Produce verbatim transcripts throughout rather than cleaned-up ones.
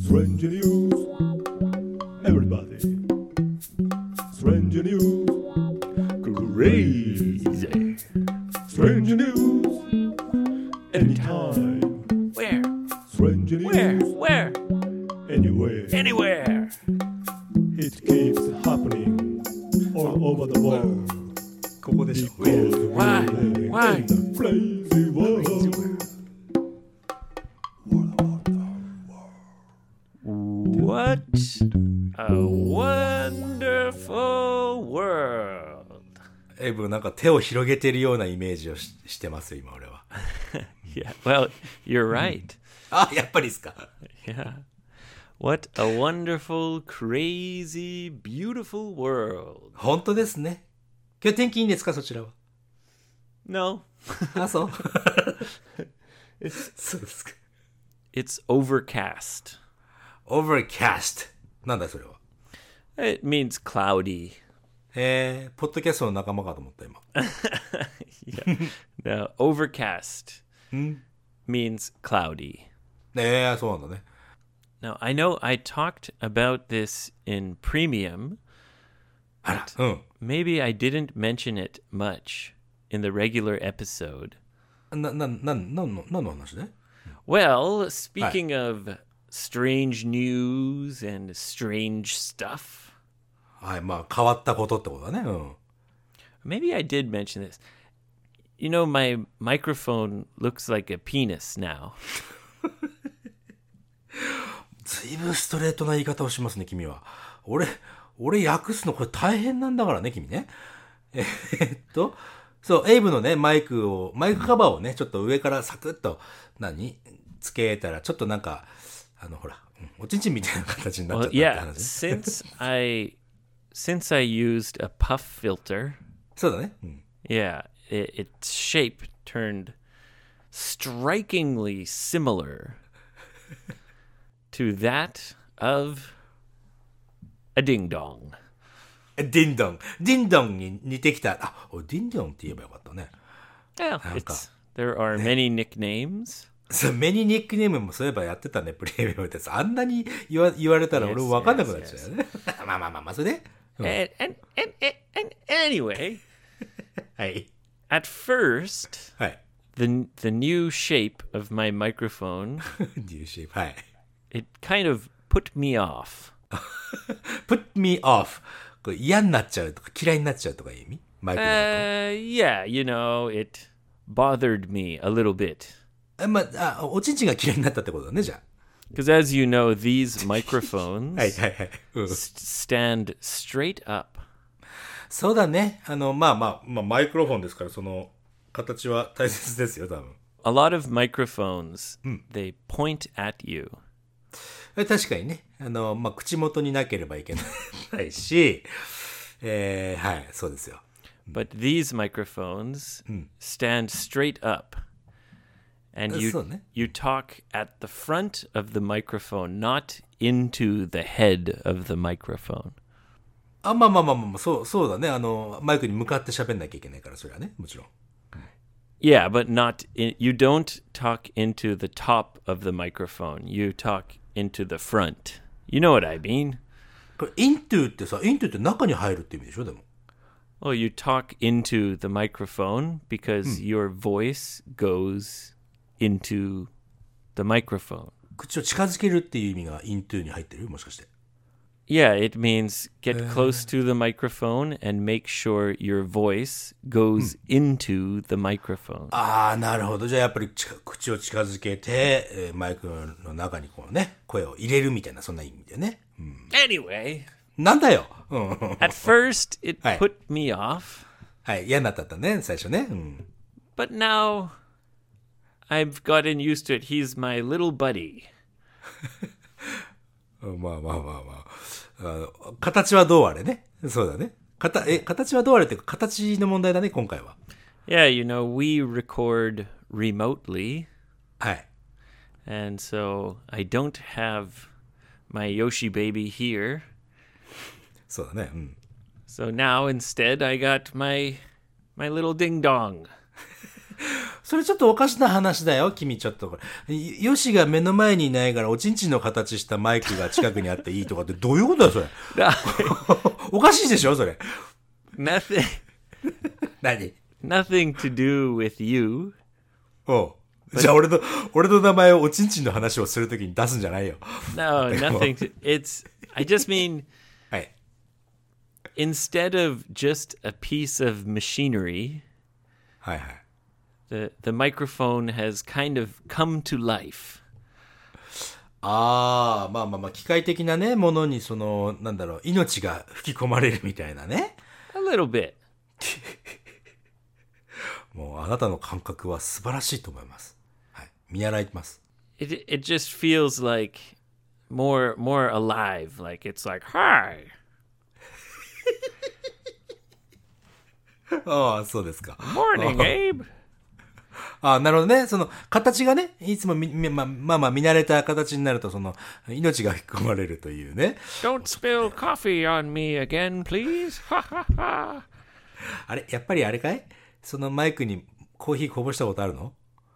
Strange news, everybody. Strange news, crazy. Strange news, anytime. Where? Strange news, Where? Where? anywhere. Anywhere. It keeps happening all over the world. ここでしょ Because Why? we're living Why? in the crazy world. What a wonderful world. エイブなんか手を広げてるようなイメージを し, してます今俺は Yeah, well, you're right. あやっぱりですか Yeah. What a wonderful, crazy, beautiful world. 本当ですね今日天気いいんですかそちらは No, あそうそうですか it's overcast. Overcast なんだそれは It means cloudy. えー、ポッドキャストの仲間かと思った今 Yeah. No, overcast means cloudy. えー、そうなんだね Now, I know I talked about this in Premium. あらうん Maybe I didn't mention it much in the regular episode. な、な、な、なんの、なんの話ね Well, speaking of strange news and strange stuff, はいまあ変わったことってことだねうん maybe I did mention this. You know, my microphone looks like a penis now. ずいぶんストレートな言い方をしますね君は俺俺訳すのこれ大変なんだからね君ねえーっとそうエイブのねマイクをマイクカバーをねちょっと上からサクッと何つけたらちょっとなんかあのほらうんおちんちんみたいな形になっちゃ Well, ったって yeah, 話ね since I since I used a puff filter, そうだね、うん yeah, it, its shape turned strikingly similar to that of a ding dong. ディンドンディンドンに似てきたあおディンドンって言えばよかったね Well, it's, there are many nicknames. そうメニーニックネームもそういえばやってたねプレミアムってあんなに言わ言われたら俺も分かんなくなっちゃうよねまあまあまあまあそれで、うん、 And, and, and, and, and anyway, はい at first, はい the the new shape of my microphone, デューシープはい it kind of put me off. put me off これ嫌になっちゃうとか嫌いになっちゃうとかいう意味マイクの Uh, yeah, you know, it bothered me a little bit. ことまああおちんちんが嫌いになったってことだねじゃ Because as you know, these あ microphones はいはいはい、うん、 s- stand straight up. そうだねあのまあまあまあマイクロフォンですからその形は大切ですよ多分 A lot of microphones, they point at you. 確かにねあのまあ口元になければいけないしえー、はいそうですよ But these microphones stand straight up. And you, そうね you talk at the front of the microphone, not into the head of the microphone. あまあまあまあまあそうそうだねあのマイクに向かって喋んなきゃいけないからそれはねもちろん Yeah, but not in, you don't talk into the top of the microphone. You talk into the front. You know what I mean? これ into ってさ into って中に入るって意味でしょでも Well, you talk into the microphone because your voice goes into the microphone. 口を近づけるっていう意味が into に入ってるもしかして Yeah, it means get close to the microphone and make sure your voice goes into the microphone. ああなるほどじゃあやっぱり近口を近づけて、えーマイクの中にこうね声を入れるみたいなそんな意味だよね、うん、 Anyway, なんだよ、うん、 at first it Hi. put me off, はい嫌になったったね最初ね、うん、 but now I've gotten used to it. He's my little buddy. まあまあまあまああの形はどうあれねそうだねかたえ形はどうあれっていうか形の問題だね今回は Yeah, you know, we record remotely, はい and so I don't have my Yoshi baby here. そうだねうん So now instead I got my my little ding dong. それちょっとおかしな話だよ、君ちょっとこれ。ヨシが目の前にいないから、おちんちんの形したマイクが近くにあっていいとかってどういうことだよ、それ。おかしいでしょ、それ。 Nothing. 何 Nothing to do with you. おう。じゃあ俺の、俺の名前をおちんちんの話をするときに出すんじゃないよ。 No, nothing to. It's. I just mean. はい。 Instead of just a piece of machinery, はいはい。 the the microphone has kind of come to life. ああ、まあまあまあ、機械的なね、ものにその、なんだろう、命が吹き込まれるみたいなね。 A little bit. もうあなたの感覚は素晴らしいと思います。はい。見習います。 It it just feels like more more alive. Like it's like hi. ああ、そうですか。 Morning, Abe. ああ、なるほどね。その、形がね、いつもみ、みまあまあまあ、見慣れた形になると、その、命が吹き込まれるというね。 Don't spill coffee on me again, please. Ha ha ha. あれ、やっぱりあれかい？そのマイクにコーヒーこぼしたことあるの？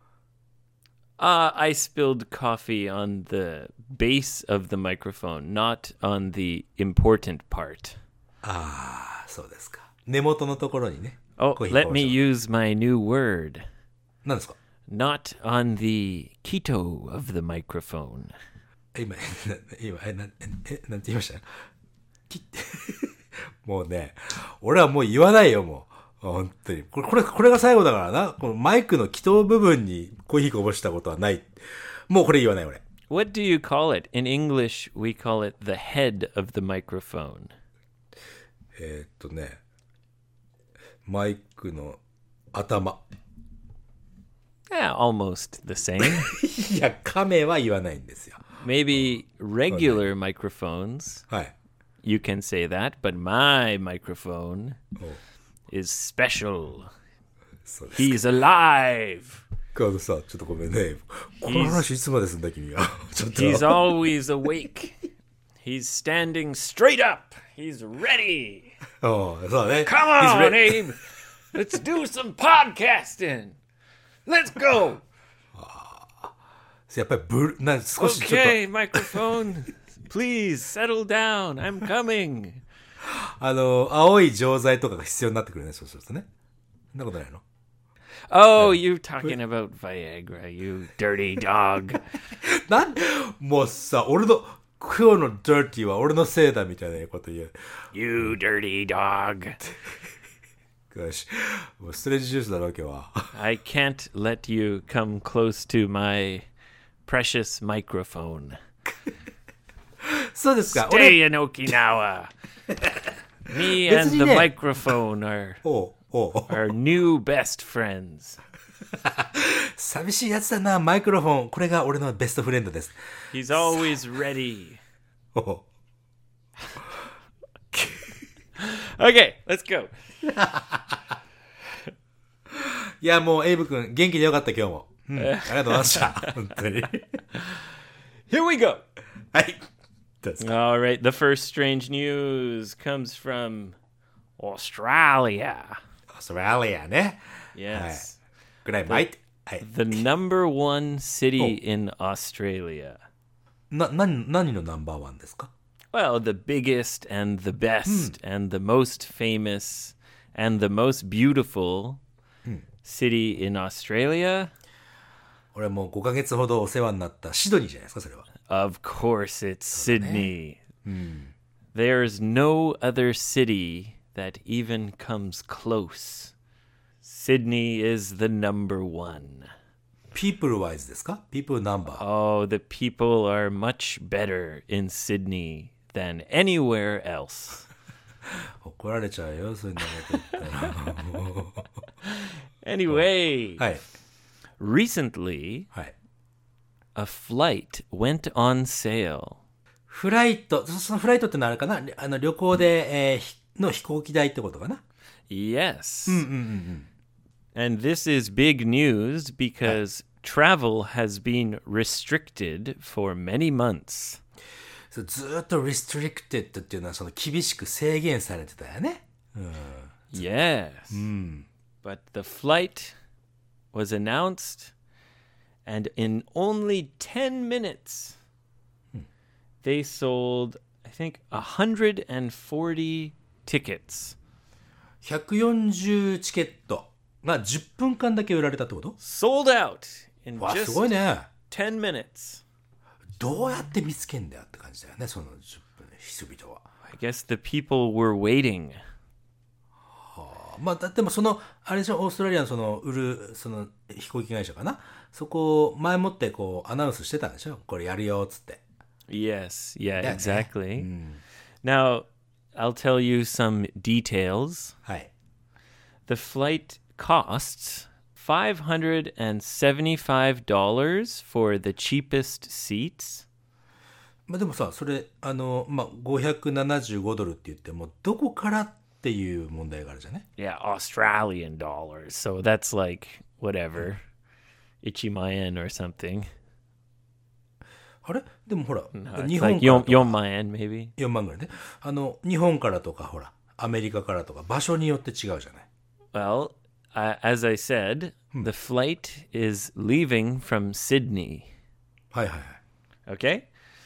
Uh, I spilled coffee on the base of the microphone, not on the important part. ああ、そうですか。根元のところにね。 Oh, コーヒー let こぼ me した。 use my new word. 何ですか？ Not on the keto of the microphone. 今、な今、え、な、え、なんて言いました？きもうね、俺はもう言わないよ、もう。本当に。これ、これ、これが最後だからな。このマイクの気筒部分にコーヒーこぼしたことはない。もうこれ言わない、俺。 What do you call it? In English, we call it the head of the microphone. えーっとね、マイクの頭。 Yeah, almost the same. いや、亀は言わないんですよ。 Maybe regular microphones, はい。 you can say that, but my microphone お is special. そうです。 He's alive. あのさ、ちょっとごめんね。この話いつまですんだ、君は。ちょっと。 He's always awake. He's standing straight up. He's ready. おうそうね。 Come He's on, re- Abe. Let's do some podcasting. Let's go. やっぱりブル、な、少しちょっと、 Okay, microphone. Please settle down. I'm coming. あの、青い錠剤とかが必要になってくるね、そうするとね。そんなことないの？ Oh, you're talking about Viagra, you dirty dog. なんもうさ、俺の、今日のダーティーは俺のせいだみたいなこと言う。 You dirty dog. よし。もうストレッチジュースだろ、今日は。 I can't let you come close to my precious microphone. そうですか。俺、 Stay in Okinawa. Me and the 別にね。 microphone are おうおう are new best friends. 寂しいやつだな、マイクロフォン。これが俺のベストフレンドです。 He's always ready. おう Okay, let's go. いや、もう、エイブ君、元気でよかった、今日も。うん、ありがとうございました。本当に。 Here we go. はい。どうですか？ All right, the first strange news comes from Australia. オーストラリアね。 Yes. ぐらい巻いて。はい。 The number one city in Australia. な、な、何のナンバーワンですか？ Well, the biggest and the best and the most famous and the most beautiful city in Australia. 俺もうごかげつほどお世話になったシドニーじゃないですか、それは。 Of course, it's Sydney. There's no other city that even comes close. Sydney is the number one. people wise ですか？ people number。 Oh, the people are much better in Sydney than anywhere else. 怒られちゃうよ、そういうのこと言ったら。もう Anyway, はい。 recently はい。 a flight went on sale. フライト、そそのフライトってのはあれかな？あの旅行で、えーひの飛行機代ってことかな？ Yes. And this is big news because travel has been restricted for many months. そうずーっと restricted っていうのはその厳しく制限されてたよね。 Yes. But the flight was announced, and in only ten minutes, they sold, I think, one hundred forty tickets. ひゃくよんじゅうチケットがじゅっぷんかんだけ売られたってこと？ Sold out in わ、す just ごいね。 ten minutes. どうやって見つけんだよって感じだよね、そのじゅっぷんで人々は。 I guess the people were waiting. まあ、だってもその、あれでしょ、オーストラリアのその、売る、その、飛行機会社かな、そこを前もってこう、アナウンスしてたんでしょ、これやるよ、つって。 Yes, yeah, Yeah, exactly. Mm. Now, I'll tell you some details. はい。 The flight costs five hundred seventy-five dollars for the cheapest seats. まあでもさ、それ、あの、まあ、ごひゃくななじゅうごドルって言っても、どこからっていう問題があるじゃね。 Yeah, Australian dollars. So that's like whatever. Ichimayen or something. あれでもほら、 No, 日 it's 本 like からと yon, か yonmayen maybe. よんまんぐらいね。あの、日本からとかほら、アメリカからとか場所によって違うじゃない。 Well, uh, as I said, the flight is leaving from Sydney. はいはいはい。 Okay?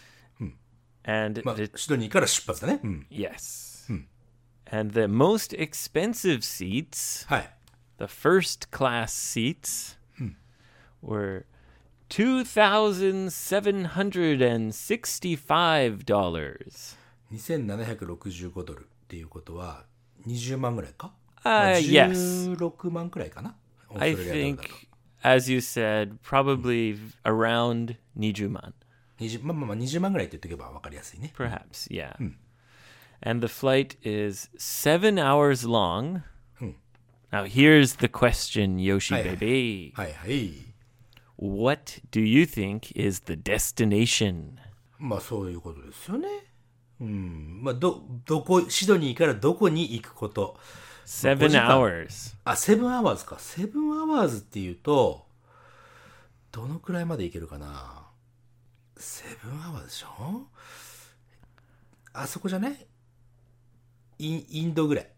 And まあ、 the, シドニーから出発だね。うん。 yes. And the most expensive seats, はい。 the first class seats, were two thousand seven hundred sixty-five dollars. にせんななひゃくろくじゅうごドルっていうことはにじゅうまんぐらいか、 Uh, まあ yes. じゅうろくまんくらいかな。 I オーストラリアドル think, だと as you said, probably around Nijuman. にじゅうまあまあまあにじゅうまんぐらいって言っておけば分かりやすいね。 Perhaps, yeah. And the flight is seven hours long. Now, here's the question, Yoshi Hi. baby. はいはい。 What do you think is the destination? まあそういうことですよね。うん。まあど、どこ、シドニーからどこに行くこと。 Seven ごじかん hours. あ、セブンアワーズか。セブンアワーズっていうと、どのくらいまで行けるかな。セブンアワーズでしょ。あそこじゃない？イン、インドぐらい。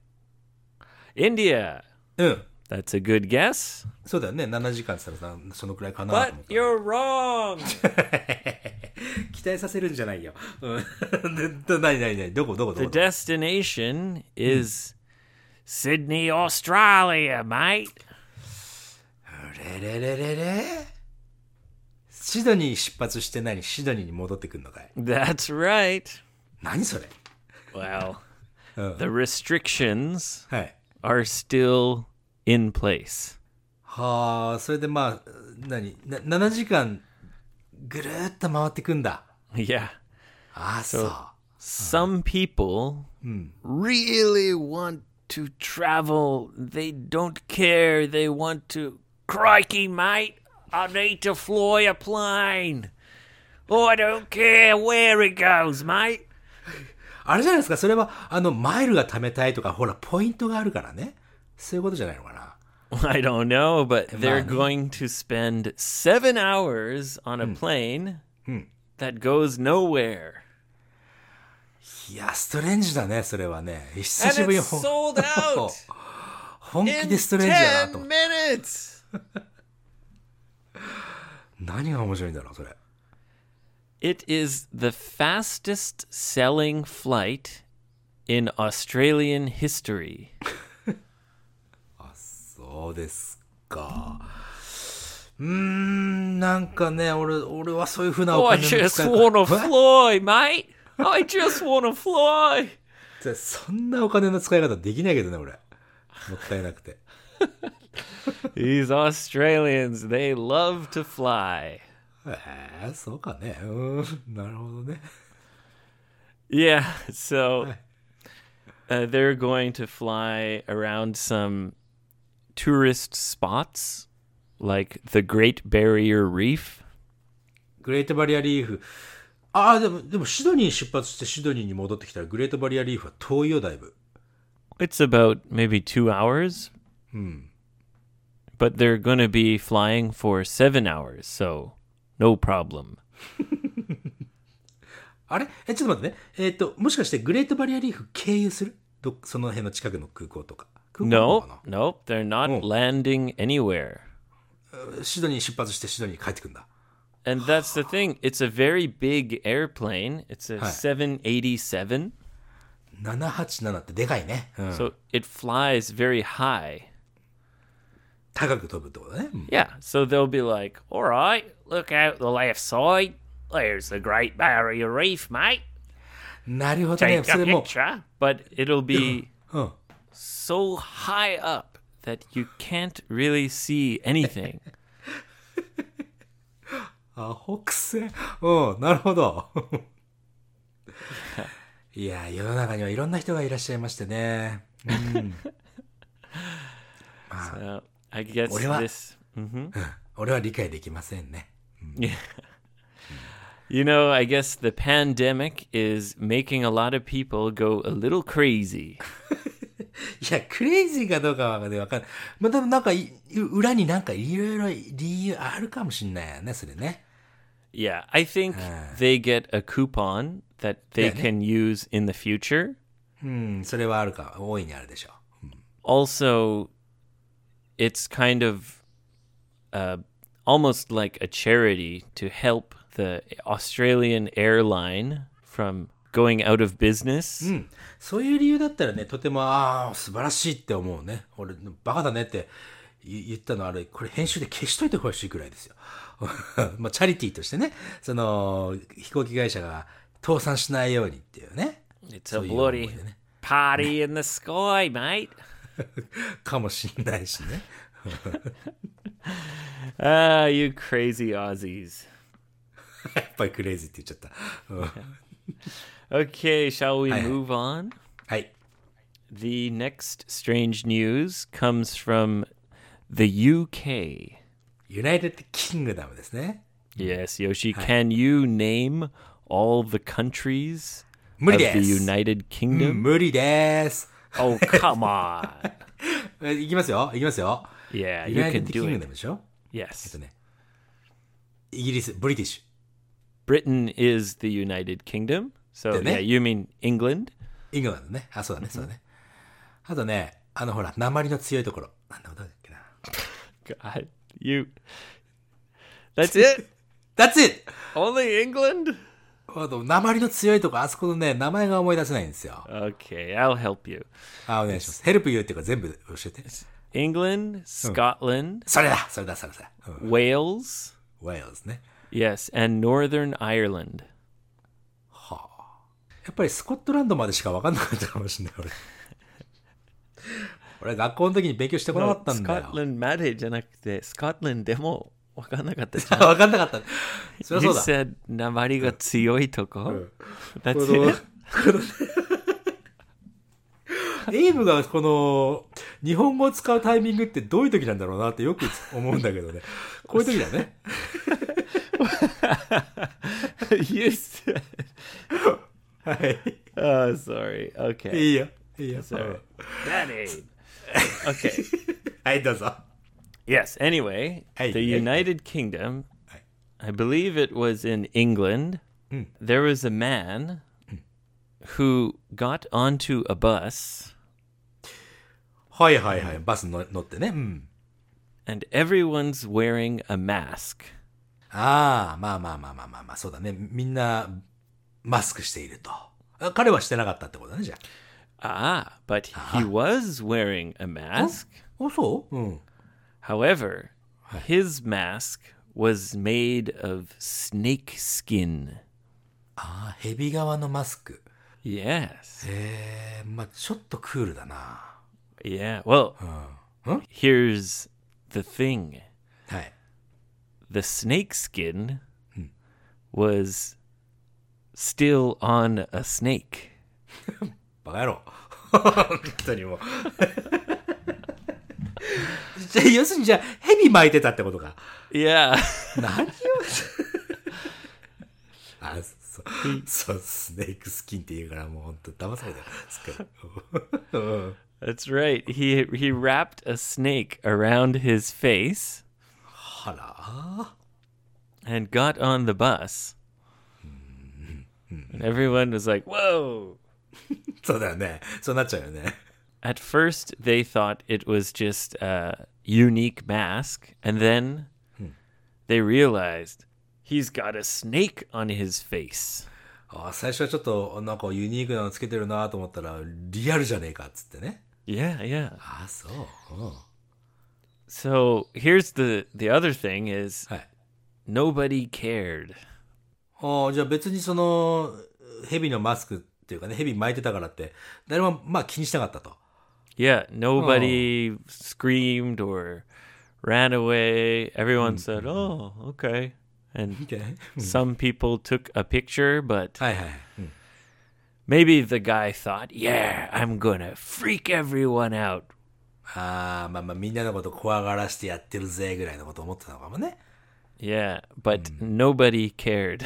India. うん。 That's a good guess. そうだよね。ななじかんって言ったらさ、そのくらいかなと思っ But た。 you're wrong. 期待させるんじゃないよ。うん。ど、なになになにどこどこど The こ destination is Sydney, Australia, mate. れれれれれシドニー出発して何シドニーに戻ってくんのかい That's right. 何それ Well, Oh. the restrictions はい。 are still in place. はあ、それでまあ、何なななじかんぐるーっと回ってくんだ。 Yeah. ああ、そう。 Some people really want to travel. They don't care. They want to. Crikey, mate. I need to fly a plane. Oh, I don't care where it goes, mate. あれじゃないですか、それは、あの、マイルが貯めたいとか、ほら、ポイントがあるからね。そういうことじゃないのかな。 I don't know, but they're Money. going to spend seven hours on a plane that goes nowhere. いや、ストレンジだね、それはね。久 And しぶりに it's ほん sold out 本気 in でストレンジだなと ten 思って。 minutes. 何が面白いんだろう、それ。 It is the fastest selling flight in Australian history. そうですか。うーん、なんかね、俺、俺はそういうふうな Oh, お I 金の just 使い want to 方。 fly, mate. I just want to fly. えそんなお金の使い方できないけどね、俺。もったいなくて。 These Australians, they love to fly. えー、そうかね。うん、なるほどね。 Yeah, so uh, they're going to fly around some tourist spots like the Great Barrier Reef. グレートバリアリーフ。ああ、でも、でもシドニー出発してシドニーに戻ってきたらグレートバリアリーフは遠いよ、だいぶ。 It's about maybe two hours. But they're going to be flying for seven hours, so no problem. あれえ、ちょっと待ってね。えっ、と、もしかしてグレートバリアリーフ経由するどその辺の近くの空港とか。空港なの No, かな nope, they're not Oh. landing anywhere. シドニー出発してシドニーに帰ってくんだ。 And that's the thing. It's a very big airplane. It's a はい。 seven eighty-seven. ななはちななってでかいね。うん、 So it flies very high. 高く飛ぶってことね。うん、 Yeah. So they'll be like, all right, look out the left side. There's the Great Barrier Reef, mate. なるほどね。 Take そ a れも、 picture. But it'll be うん、 so high up that you can't really see anything. アホくせ。うん、なるほど。いや、世の中にはいろんな人がいらっしゃいましてね。うん、 So I guess 俺は、 this. Mhm. 俺は理解できませんね。 Yeah. You know, I guess the pandemic is making a lot of people go a little crazy. いや、クレイジーかどうかはわかんない。まあ、でもなんかい、裏になんかいろいろ理由あるかもしんないよね、それね。 Yeah, I think they get a coupon that they Yeah, yeah. can use in the future. うん、それはあるか、大いにあるでしょう。 Also, it's kind of uh, almost like a charity to help the Australian airline from going out of business. うん。そういう理由だったらね、とても、ああ、素晴らしいって思うね。俺、バカだねって言言ったのあれ、これ編集で消しといてほしいくらいですよ。まあ、チャリティーとしてね、その、飛行機会社が倒産しないようにっていうね。 It's そ a ういう思い bloody でね。 party in the sky, mate. かもしんないしね。 Ah, you crazy Aussies. やっぱりクレイジーって言っちゃった。うん、 Okay, shall we Hi. move on? はい。 The next strange news comes from the U K. ユナイテッドキングダムですね。 Yes, Yoshi, can you name all the countries 無 of 理 the です。 United うん、 Kingdom? 無理です。 Oh, come on. えいきますよ。いきますよ。 Yeah, ユ you ナイテ can ッドキン do グ it. ダムでしょ。えっ Yes. とね。イギリス、ブリティッシュ。 Britain is the United Kingdom. So, Didn't yeah, it? you mean England? イングランドね。あ、そうだね、そうだね。あとね、あのほら、鉛の強いところ。なんだ、どうだっけな。 God, you. That's it? That's it! Only England? あと、鉛の強いところ、あそこのね、名前が思い出せないんですよ。 Okay, I'll help you. あ、お願いします。ヘルプユーっていうか全部教えて。 England, Scotland, それだそれだそれだ。うん、 Wales, ウェールズね。 yes, and Northern Ireland. やっぱりスコットランドまでしか分かんなかったかもしれない、俺。俺、学校の時に勉強してこなかったんだよ。 Scotland までじゃなくて、Scotland でも分かんなかったじゃん。 分かんなかった。そりゃ You そうだ。 said 鉛が強いとこ。That's この it? エイブがこの日本語を使うタイミングってどういう時なんだろうなってよく思うんだけどね。こういう時だね。 You said. はい。 Oh, sorry. Okay. いいよ。いいよ。 Sorry. Daddy. Okay. はい、どうぞ。 Yes. Anyway, Hey, the hey, United Kingdom, Hey. I believe it was in England. There was a man who got onto a bus, はいはいはい。バスの乗ってね。うん。 and everyone's wearing a mask. ああ、まあまあまあまあまあまあ、そうだね。みんなマスクしていると。あ、彼はしてなかったってことだね、じゃ Ah, but he was wearing a mask. あ。あ、そううん。 However, his mask was made of snake skin. ああ、ヘビ側のマスク。 Yes. へえ、まあちょっとクールだな。 Yeah. Well, うん。 here's the thing. はい。 The snake skin was still on a snake. バカ野郎。本当にもう。じゃあ要するにじゃあ、ヘビ巻いてたってことか。 Yeah. 何をあ、そう、そう、スネークスキンって言うからもう本当騙されたよ。すっかり。うん That's right. He he wrapped a snake around his face はら and got on the bus. And everyone was like, "Whoa." そうだよね。そうなっちゃうよね。 At first, they thought it was just, uh, unique mask, and then they realized he's got a snake on his face. あ最初はちょっとなんかユニークなのつけてるなと思ったらリアルじゃねえかっつってね。 Yeah, yeah. あそう。うん So here's the the other thing is はい。 nobody cared. あじゃあ別にその蛇のマスクっていうかね、蛇巻いてたからって誰もまあ気にしなかったと。 Yeah, nobody screamed or ran away. Everyone said, "Oh, okay." And Okay. some people took a picture, but はいはい。うん maybe the guy thought, "Yeah, I'm gonna freak everyone out." ああ、まあまあみんなのこと怖がらしてやってるぜぐらいのこと思ってたのかもね。 Yeah, but nobody cared.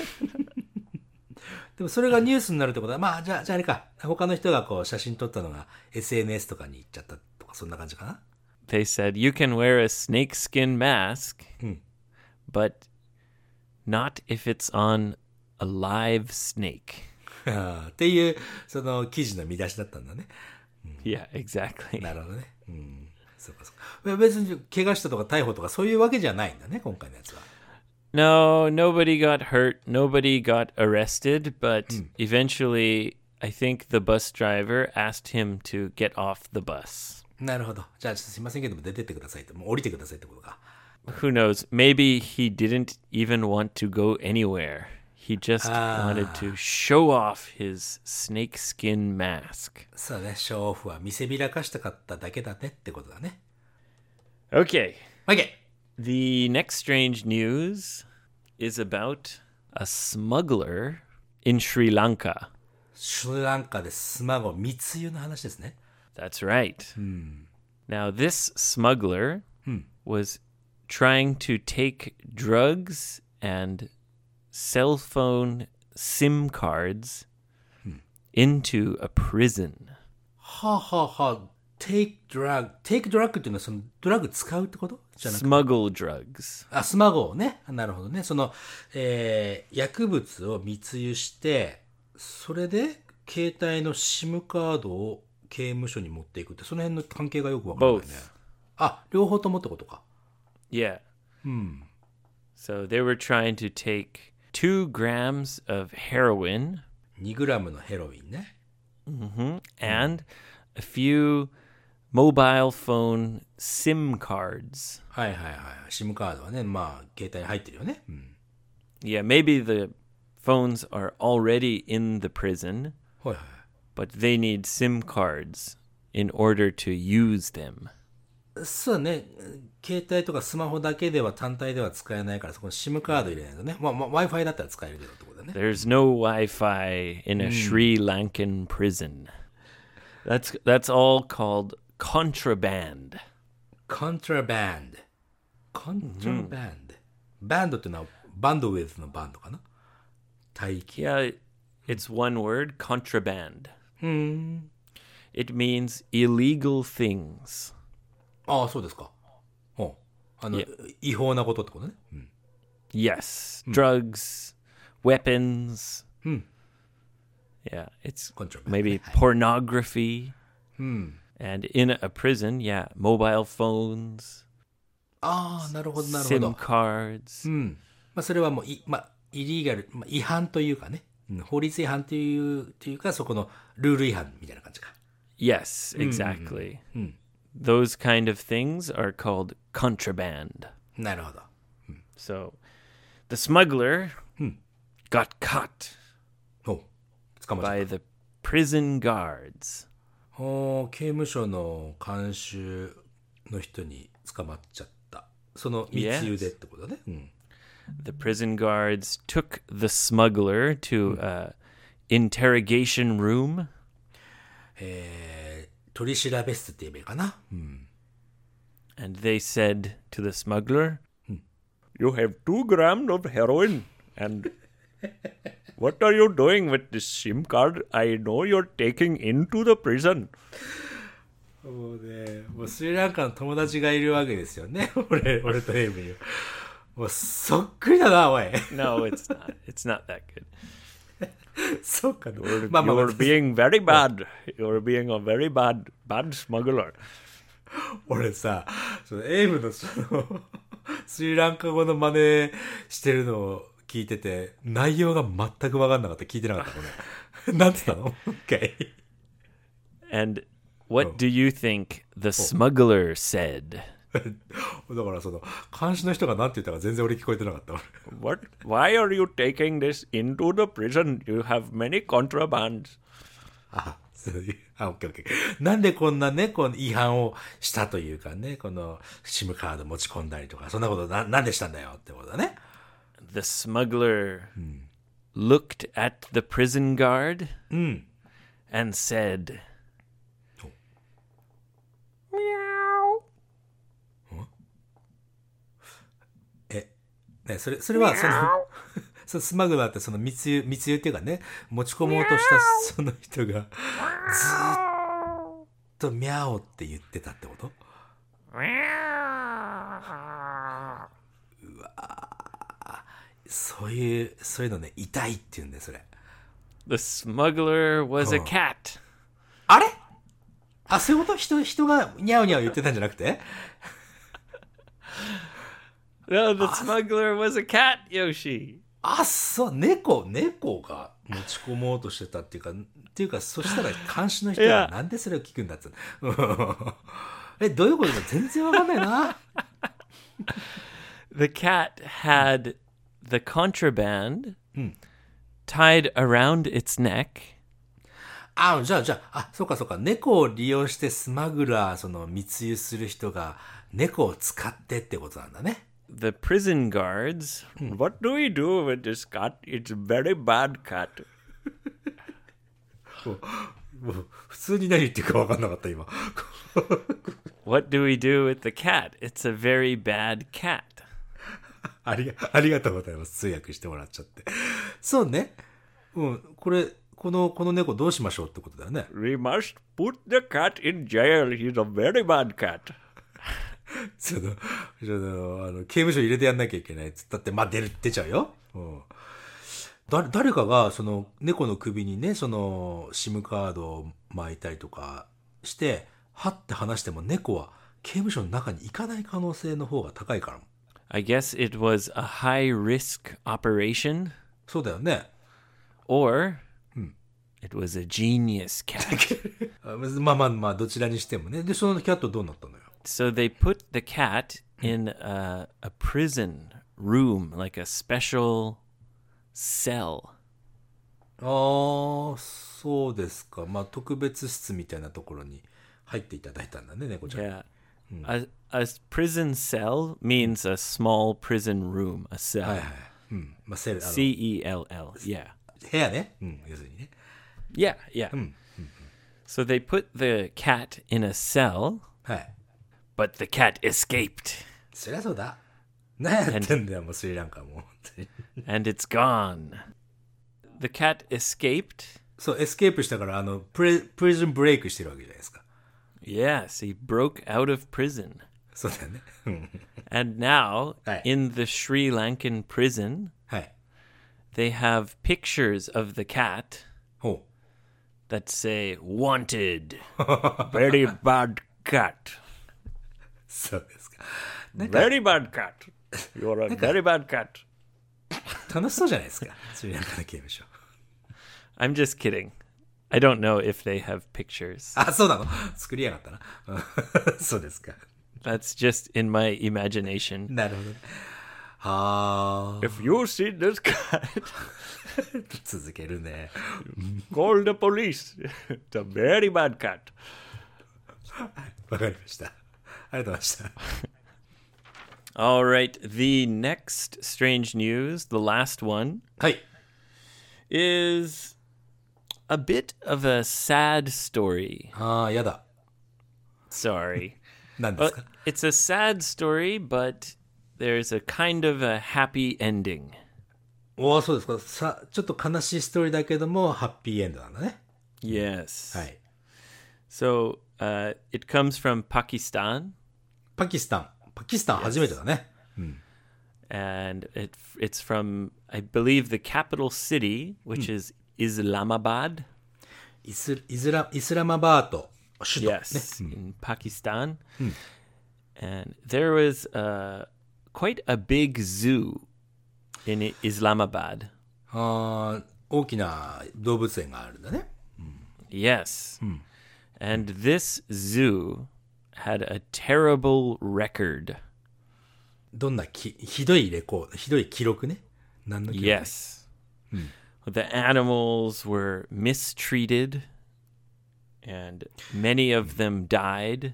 でもそれがニュースになるってことは、まあじゃあ、じゃああれか。他の人がこう写真撮ったのが エスエヌエス とかに行っちゃったとか、そんな感じかな。 They said you can wear a snakeskin mask, but not if it's on a live snake. っていう、その記事の見出しだったんだね。 Yeah, exactly. なるほどね。うん。そうかそうか。別に怪我したとか逮捕とかそういうわけじゃないんだね、今回のやつは。 No, nobody got hurt. Nobody got arrested, but eventually, I think the bus driver asked him to get off the bus. なるほど。じゃあちょっとすいませんけども出てってくださいって、もう降りてくださいってことか。 Who knows? Maybe he didn't even want to go anywhere. He just wanted to show off his snakeskin mask. そうね、ショーオフは見せびらかしたかっただけだねってことだね。 Okay, OK! the next strange news is about a smuggler in Sri Lanka. スリランカでスマゴ密輸の話ですね。 That's right. Now, this smuggler was trying to take drugs and cell phone SIM cards into a prison. はあ、はあはあ、take drug。take drug っていうのはそのドラッグ使うってことじゃなくて。 Smuggle drugs. あ、スマゴをね。なるほどね。その、えー、薬物を密輸して、それで携帯の SIM カードを刑務所に持っていくって、その辺の関係がよくわからないね。 Both. あ、両方ともってことか。 Yeah. So they were trying to take two grams of heroin にグラムのヘロインね。 and a few mobile phone SIM cards. はいはいはい。SIM カードはね、まあ、携帯に入ってるよね。うん。 Yeah, maybe the phones are already in the prison, はいはい。 but they need SIM cards in order to use them. そうね。携帯とかスマホだけでは単体では使えないから、そこに SIM カード入れないとね。まあ、まあ、Wi-Fi だったら使えるけどってことだね。 There's no Wi-Fi in a Sri Lankan prison. That's that's all called contraband. コントラバンド。コントラバンド。バンドっていうのはバンドウェイズのバンドかな。帯域。 Yeah, it's one word, contraband. It means illegal things. ああ、そうですか。ほう。あの、違法なことってことね。うん。 Yes, drugs, weapons. Yeah, it's Contraband. maybe pornography. And in a prison, yeah, mobile phones, ああ、なるほど、なるほ SIM ど。 cards. うん。まあ、それはもう、い、まあ、イリーガル、まあ、違反というかね。うん、法律違反という、というか、そこのルール違反みたいな感じか。 Yes, exactly. Those kind of things are called contraband. なるほど。 So the smuggler got caught ほう。捕まっちゃっ by the prison guards. た。ほう、刑務所の監修の人に捕まっちゃった。その密輸でってことね。うん。 The prison guards took the smuggler to a interrogation room. えー、取り調べ室って言えばいいかな。うん。 And they said to the smuggler, "You have two grams of heroin, and what are you doing with this SIM card? I know you're taking into the prison." もうね、もうスリランカの友達がいるわけですよね。俺、俺とエイブに。もうそっくりだな、おい。 No, it's not. It's not that good. そうかな。 You're, まあまあまあ you're being very bad. You're being a very bad, bad smuggler. 俺さ、そのエイブのその、スリランカ語の真似してるのを聞いてて、内容が全く分かんなかった。聞いてなかった、これ。なんて言ったの？ ?Okay. And what do you think the smuggler said? だからその、監視の人がなんて言ったか全然俺聞こえてなかった。 What? Why are you taking this into the prison? You have many contrabands. あ、そういう、あ、オッケーオッケー。なんでこんなね、この違反をしたというかね、この SIM カード持ち込んだりとか、そんなことな、なんでしたんだよってことだね。 The smuggler looked at the prison guard and said, Meow. え、ね、それ、それはその、そのスマグラーってその密輸、密輸っていうかね、持ち込もうとしたその人が、ずーっとミャオって言ってたってこと？うわそういう、そういうのね、痛いって言うんだよ、それ。 The smuggler was a cat. あれあ、そういうこと？人、人がニャオニャオ言ってたんじゃなくて？ No, the smuggler was a cat, Yoshi. あ、そう、猫、猫が持ち込もうとしてたっていうか、っていうか、そしたら監視の人はなんでそれを聞くんだっつうえ、どういうことか全然わかんないな。 The cat had the contraband tied around its neck. あ、じゃあ、じゃあ、あ、そうかそうか。猫を利用してスマグラー、その密輸する人が猫を使ってってことなんだね。 The prison guards, what do we do with this cat? It's a very bad cat. もうもう普通に何言ってるか分かんなかった今。 What do we do with the cat? It's a very bad cat. ありが、ありがとうございます。通訳してもらっちゃって。そうね。うん、これ、この、この猫どうしましょうってことだよね。 We must put the cat in jail. He's a very bad cat. その、その、あの、刑務所入れてやんなきゃいけないっつったって、まあ、出る、出ちゃうよ。うん。だ、誰かが、その、猫の首にね、その、SIM カードを巻いたりとかして、はって話しても猫は刑務所の中に行かない可能性の方が高いから。 I guess it was a high risk operation. そうだよね。 Or it was a genius cat. まあまあまあ、どちらにしてもね。で、そのキャットどうなったのよ。 So they put the cat in a, a prison room, like a special cell. ああ、そうですか。まあ、特別室みたいなところに入っていただいたんだね、猫ちゃん。 Yeah. A, a prison cell means a small prison room, a cell. はいはい。うん。まあ、セル、あの C E L L, yeah. 部屋ね。うん、要するにね。 Yeah, yeah. So they put the cat in a cell, はい。 but the cat escaped. そりゃそうだ。何やってんだよ、もうスリランカも。本当に And it's gone. The cat escaped. そう、エスケープしたから、あの、プレ、プリズンブレイクしてるわけじゃないですか。 Yes, he broke out of prison. そうだよね。うん And now, Right. in the Sri Lankan prison, はい。 they have pictures of the cat ほう。 that say, wanted, very bad cat, そうですか。 very bad cat. You're a very bad cat. 楽しそうじゃないですか。スリランカの刑務所。 I'm just kidding. I don't know if they have pictures. あ、そうなの？作りやがったな。そうですか。 That's just in my imagination. なるほどね。はあ。 If you see this cat, 続けるね。 call the police. It's a very bad cat. わかりました。ありがとうございました。 All right, the next strange news, the last one, はい。 is a bit of a sad story. ああ、やだ。 Sorry. 何です Well, か？ it's a sad story, but there's a kind of a happy ending. おお、そうですか。さ、ちょっと悲しいストーリーだけども、ハッピーエンドなんだね。 Yes. はい。 So uh, it comes from Pakistan, パキスタン。パキスタン初めてだね。 and it it's from, I believe, the capital city, which is Islamabad. イス、イスラ、イスラマバート。 首都、ね。 Yes, in Pakistan. And there was uh, quite a big zoo in Islamabad. あー大きな動物園があるんだね。 Yes. And this zoo had a terrible record. どんなきひどいレコード、ひどい記録ね。何の記録？ Yes. The animals were mistreated, and many of them died.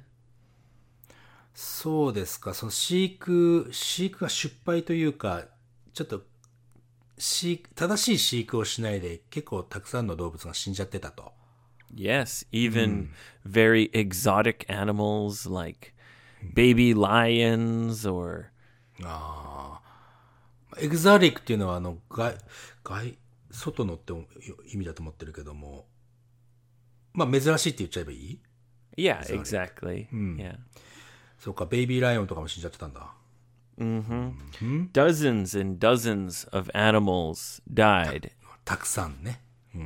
そうですか。その飼育、飼育が失敗というか、ちょっと飼育、正しい飼育をしないで結構たくさんの動物が死んじゃってたと。 Yes, even very exotic animals like baby lions or ああ。エグザリックっていうのはあの外、外、外のって意味だと思ってるけども、まあ珍しいって言っちゃえばいい？ yeah, exactly. Yeah. そうか、ベイビーライオンとかも死んじゃってたんだ。 Dozens and dozens of animals died, たくさんね。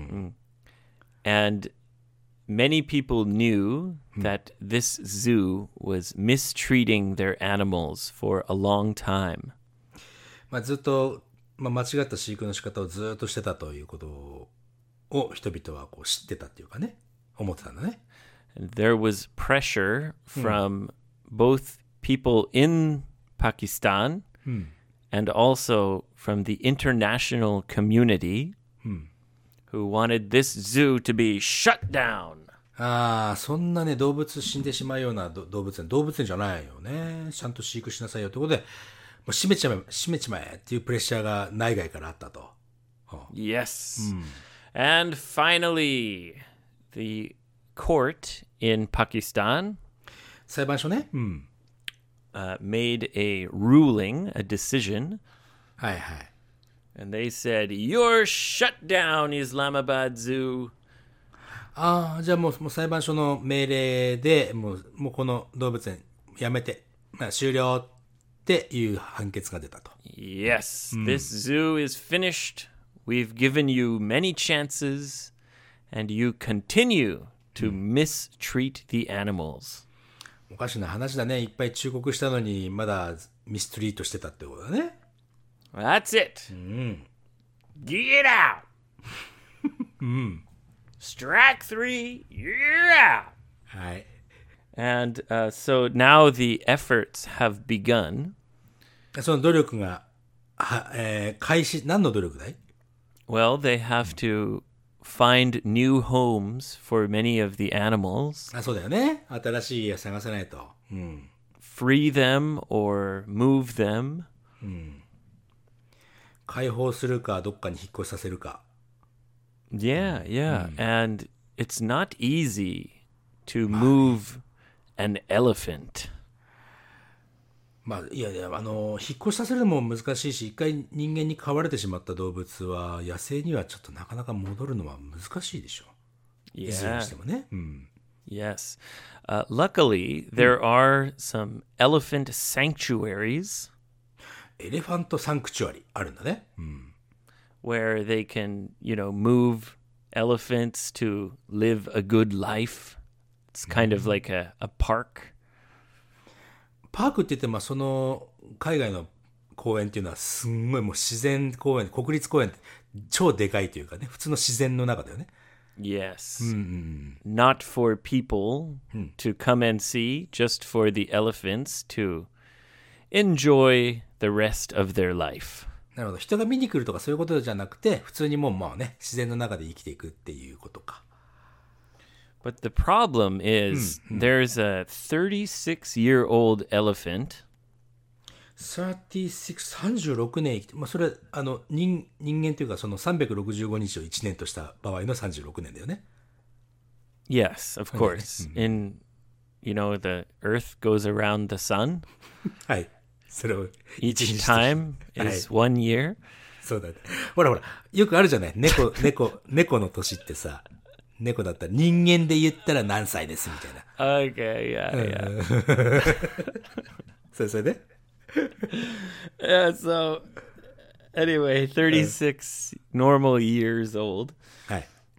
and many people knew that this zoo was mistreating their animals for a long time. まあずっと、まあ、間違った飼育の仕方をずっとしてたということを人々はこう知ってたっていうかね、思ってたんだね。 And there was pressure from both people in Pakistan and also from the international community who wanted this zoo to be shut down. ああ、そんなね、動物死んでしまうようなど動物園、動物園じゃないよね。ちゃんと飼育しなさいよということで、もう閉めちまえ、閉めちまえっていうプレッシャーが内外からあったと。 Yes. And finally, the court in Pakistan 裁判所ね。うん。 uh, made a ruling, a decision, はいはい。 and they said, "You're shut down, Islamabad Zoo." ああ、じゃあもう、もう裁判所の命令で、もう、もうこの動物園やめて、まあ終了っていう判決が出たと。 Yes, this zoo is finished. We've given you many chances, and you continue to mistreat the animals. おかしな話だね。いっぱい忠告したのに、まだミストリートしてたってことだね。 That's it. Get out. Strike three, you're out. はい。 And uh, so now the efforts have begun. その努力が、は、えー開始、何の努力だい？ Well, they have to find new homes for many of the animals, あ、そうだよね。新しい家探さないと。うん。 free them or move them. 解放するか、どっかに引っ越しさせるか。 Yeah, yeah. And it's not easy to move an elephant. まあ、いやいや、あの、引っ越しさせるのも難しいし、一回人間に飼われてしまった動物は、野生にはちょっとなかなか戻るのは難しいでしょ。いずれに Yeah. してもね。うん。 Yes. Uh, luckily, there are some elephant sanctuaries エレファントサンクチュアリあるんだね。うん。 where they can, you know, move elephants to live a good life. It's kind of like a, a park. パークって言っても、その、海外の公園っていうのは、すんごいもう自然公園、国立公園って超でかいというかね、普通の自然の中だよね。 Yes. Not for people to come and see, just for the elephants to enjoy the rest of their life. なるほど。人が見に来るとかそういうことじゃなくて、普通にもうまあね、自然の中で生きていくっていうことか。 But the problem is there's a thirty-six-year-old elephant さんじゅうろく、さんじゅうろくねん生きて、まあそれは、あの、人、人間というかそのさんびゃくろくじゅうごにちをいちねんとした場合のさんじゅうろくねんだよね。 Yes, of course. In, you know, the Earth goes around the sun. はい。それを Each 一日的 time はい is one year. そうだね。ほらほら、よくあるじゃない。猫、猫、猫の年ってさ、猫だったら人間で言ったら何歳ですみたいな。 Okay, yeah, yeah. それそれで Yeah, so anyway, thirty-six normal years old. はい。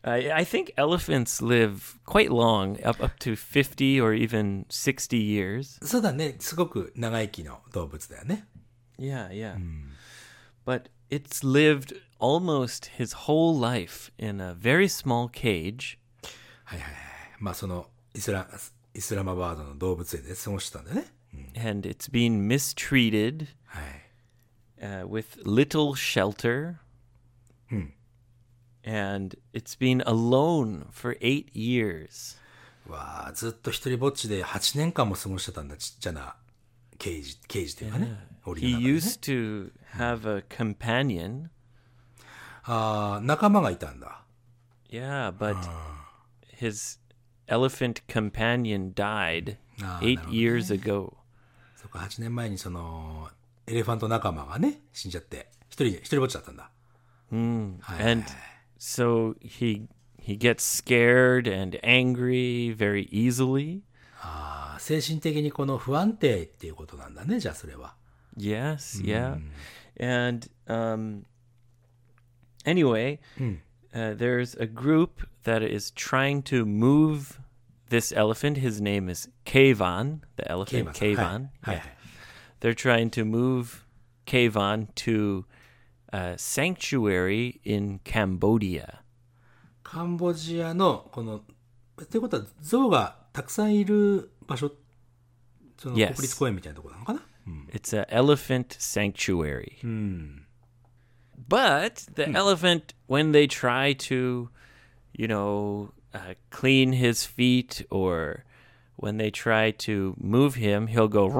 I, I think elephants live quite long, up up to fifty or even sixty years. そうだね。すごく長生きの動物だよね。 Yeah, yeah. But it's lived almost his whole life in a very small cage. はいはいはい。まあそのイスラ、イスラマバードの動物園で過ごしてたんだよね。 And it's been mistreated はい。 uh, with little shelter. And it's been alone for eight years. わあ、ずっと一人ぼっちではちねんかんも過ごしてたんだ。ちっちゃなケージ、ケージというかね。檻 He の中でね。 used to have a companion. ああ、仲間がいたんだ。 Yeah, but his elephant companion died Ah, eight なるほどね。 years ago. そっか、はちねんまえにその、エレファント仲間がね、死んじゃって、一人、一人ぼっちだったんだ。 And so he he gets scared and angry very easily. ああ、精神的にこの不安定っていうことなんだね、じゃあそれは。 Yes, yeah. And um, anyway, uh, there's a group that is trying to move this elephant. His name is Kayvan, the elephant ケイバ Kayvan. さん。はい、はいはい。 They're trying to move Kayvan to a sanctuary in Cambodia. カンボジアの、この、っていうことは、象がたくさんいる場所、その Yes. 国立公園みたいなところなのかな、 It's an elephant sanctuary. But the elephant, when they try to, you know, uh, clean his feet or when they try to move him, he'll go.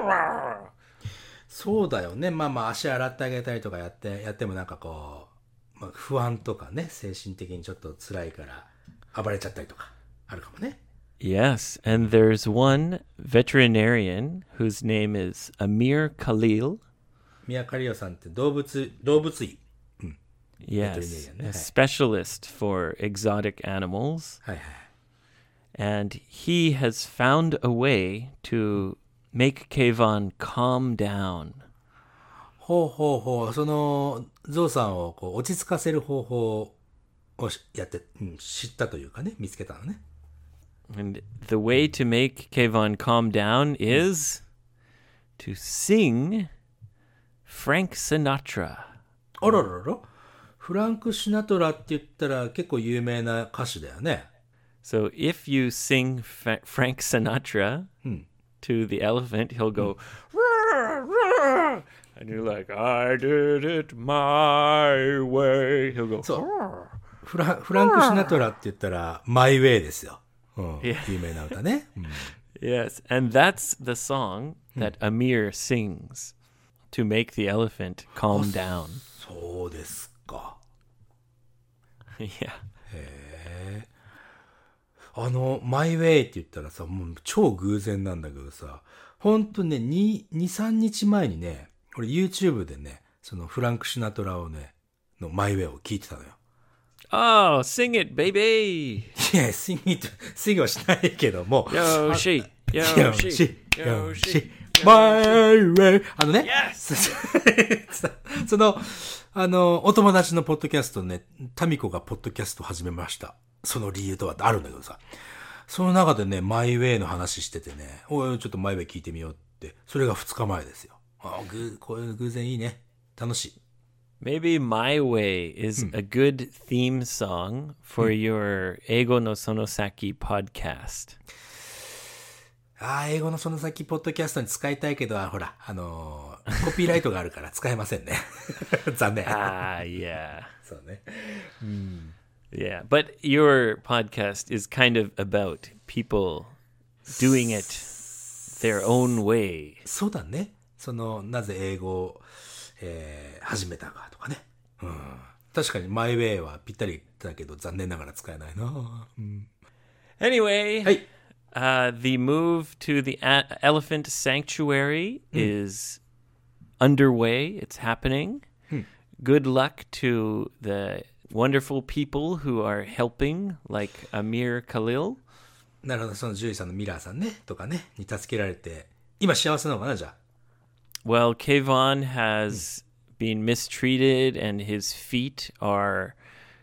そうだよね。まあまあ足洗ってあげたりとかやって、やってもなんかこう、まあ、不安とかね、精神的にちょっと辛いから暴れちゃったりとかあるかもね。 Yes, and there's one veterinarian whose name is Amir Khalil. 宮カリオさんって動物、動物医。 Yes, Veterinarian, a okay. specialist for exotic animals. はいはい。 And he has found a way to make Kayvan calm down. ほうほうほう。その、ゾウさんをこう落ち着かせる方法をしやって、うん、知ったというかね、見つけたのね。 And the way to make Kayvan calm down is to sing Frank Sinatra. あららら。フランク・シナトラって言ったら結構有名な歌手だよね。 So if you sing Fa- Frank Sinatra to the elephant, he'll go, "Roar, roar," and you're like, I did it my way. He'll go, そう "Roar." フラフランク・シナトラって言ったら、マイ・ウェイですよ。うん、 Yeah. 有名な歌ね。うん Yes, and that's the song that Amir sings to make the elephant calm down. そうですか。 Yeah. あの、マイ・ウェイって言ったらさ、もう超偶然なんだけどさ、ほんとね、に、に、さんにちまえにね、俺 YouTube でね、そのフランク・シナトラをね、のマイ・ウェイを聞いてたのよ。 Oh, sing it, baby. いや、シンギ、シンギはしないけども。 Yoshi, よ Yoshi, し、よ Yoshi. し、マイ・ウェイ。あのね、 Yes. その、あの、お友達のポッドキャストね、タミコがポッドキャストを始めました。その理由とはあるんだけどさ。その中でね、マイ・ウェイの話しててね、おい、ちょっとマイ・ウェイ聞いてみようって。それがふつかまえですよ。あぐ、こういう偶然いいね。楽しい。 Maybe My Way is a good theme song for your Eigo no Sonosaki podcast. ああ、英語のその先、ポッドキャストに使いたいけど、ほら、あのー、コピーライトがあるから使えませんね。残念。 Ah, yeah. そうね。 Yeah. But your podcast is kind of about people doing it their own way. そうだね。その、なぜ英語を、えー、始めたかとかね。うん。確かに、マイ・ウェイはぴったりだけど、残念ながら使えないな。うん、 Anyway, はい。 uh, the move to the a- elephant sanctuary is underway. It's happening. Good luck to the wonderful people who are helping, like Amir Khalil. なるほど、その獣医さんのミラーさんね、とかね、に助けられて、今幸せなのかな、じゃあ。 Well, Kayvon has been mistreated and his feet are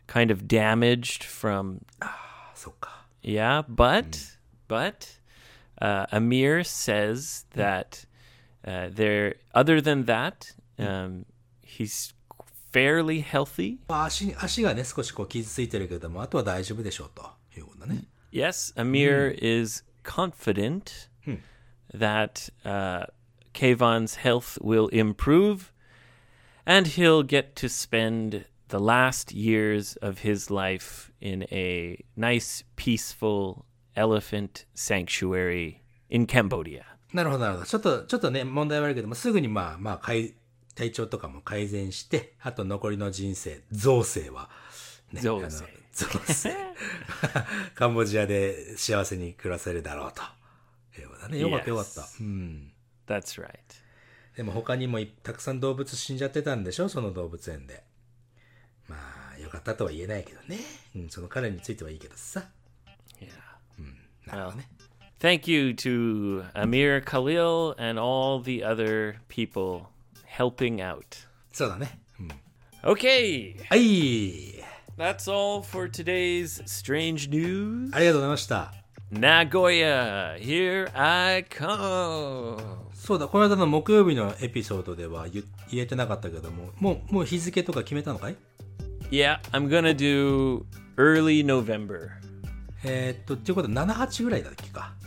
kind of damaged from そっか。 yeah, but but uh, Amir says that uh, there other than that, um, he's fairly healthy. まあ足、足がね、少しこう傷ついてるけども、あとは大丈夫でしょうということだね。 Yes, Amir is confident that uh, Kayvon's health will improve and he'll get to spend the last years of his life in a nice, peaceful elephant sanctuary in Cambodia. なるほど、なるほど。ちょっと、ちょっとね、問題はあるけども、すぐにまあ、まあ、改体調とかも改善して、あと残りの人生、造生は、ね、 造成あの造成。カンボジアで幸せに暮らせるだろうと。いうことだね。よかった、よかった。 Yes. うん。 That's right. でも他にもいたくさん動物死んじゃってたんでしょ、その動物園で。まあ、よかったとは言えないけどね。うん、その彼についてはいいけどさ。 Yeah. なるほどね。 Thank you to Amir Khalil and all the other people helping out. そうだね。うん。 Okay, はい。 that's all for today's strange news. ありがとうございました。 Nagoya, here I come. そうだ、この間の木曜日のエピソードでは言言えてなかったけども、もう、もう日付とか決めたのかい？ Yeah, I'm gonna do early November. えー、っと、っていうことはなな、はちぐらいだっけか。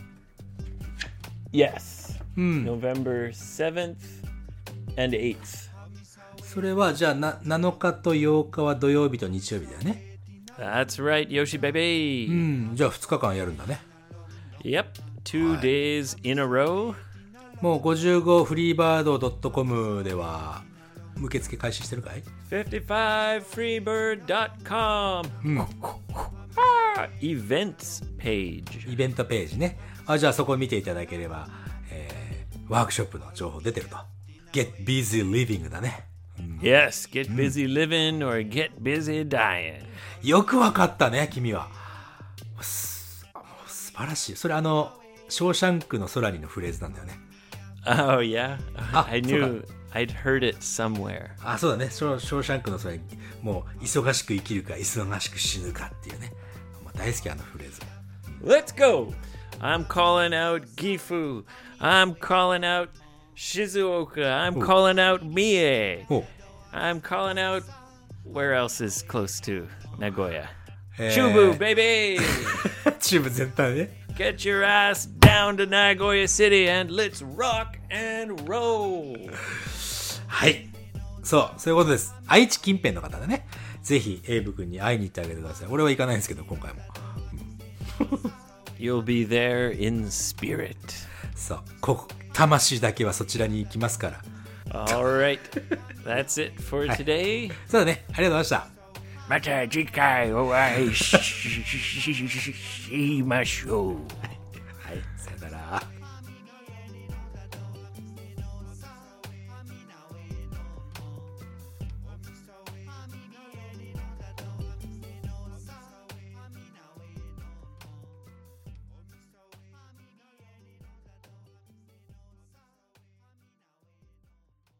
Yes. November seventh and eighth. それは、じゃあな、なのかとようかは土曜日と日曜日だよね。 That's right, Yoshi baby. うん、じゃあふつかかんやるんだね。 Yep, two days in a row. もうごじゅうごフリーバード .com では受付開始してるかい？ fifty-five free bird dot com. Ah, events page. イベントページね。あ、じゃあそこを見ていただければ、えー、ワークショップの情報出てると。Get busy living だね。 Yes, get busy living or get busy dying. よくわかったね、君は。すもう素晴らしい。それあの、ショーシャンクの空にのフレーズなんだよね。 Oh, yeah? Ah, I knew I'd heard it somewhere. あ、そうだね。ショーショーシャンクの空に、もう忙しく生きるか、忙しく死ぬかっていうね。もう大好きあのフレーズ。 Let's go! I'm calling out Gifu. I'm calling out Shizuoka. I'm calling out Mie. お I'm calling out... Where else is close to Nagoya? えー Chubu, baby! チーム全体ね。 Get your ass down to Nagoya City and let's rock and roll! はい。そう、そういうことです。愛知近辺の方でね、ぜひエイブ君に会いに行ってあげてください。俺は行かないんですけど、今回も。 You'll be there in spirit. そう、ここ、魂だけはそちらに行きますから。 All right. That's it for today. そうだね。ありがとうございました。 また次回お会いしましょう。 はい、さよなら。